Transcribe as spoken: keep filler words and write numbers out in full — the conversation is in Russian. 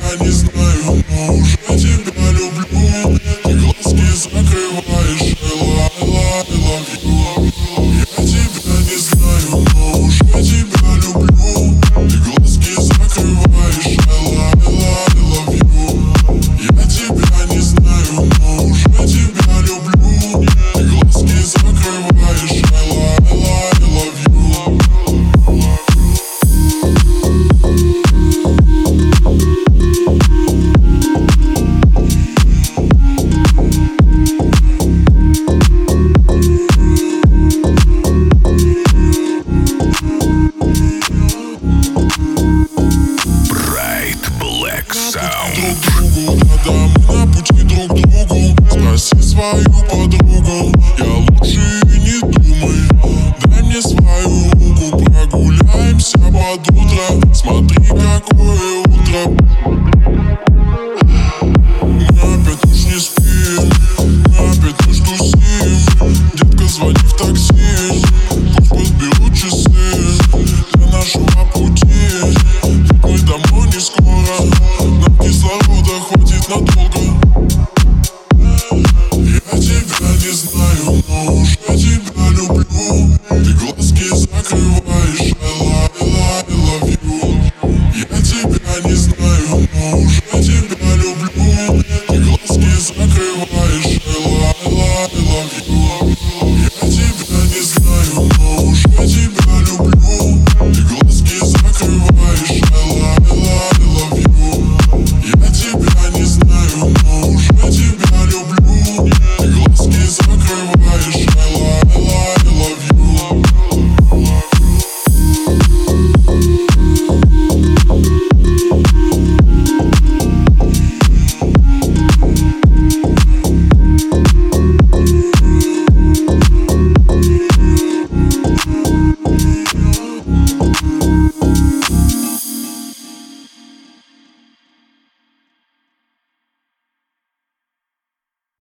тебя не знаю, но уже тебя люблю. Ты глазки закрываешь, I love, I love you. Я тебя не знаю, но уже тебя люблю. Ты глазки закрываешь, I love, I love you. Я тебя не знаю, но уже тебя люблю. Ты глазки закрываешь, I love, I love you. Друг другу, когда мы на пути друг к другу. Спроси свою подругу, я лучше и не думай. Дай мне свою руку, прогуляемся под утро. Смотри, какое утро. Мы опять уж не спим, мы опять уж тусим. Детка, звони в такси, пусть подберут часы для нашего пути. Ведь мы домой не скоро, нам кислорода хватит надолго.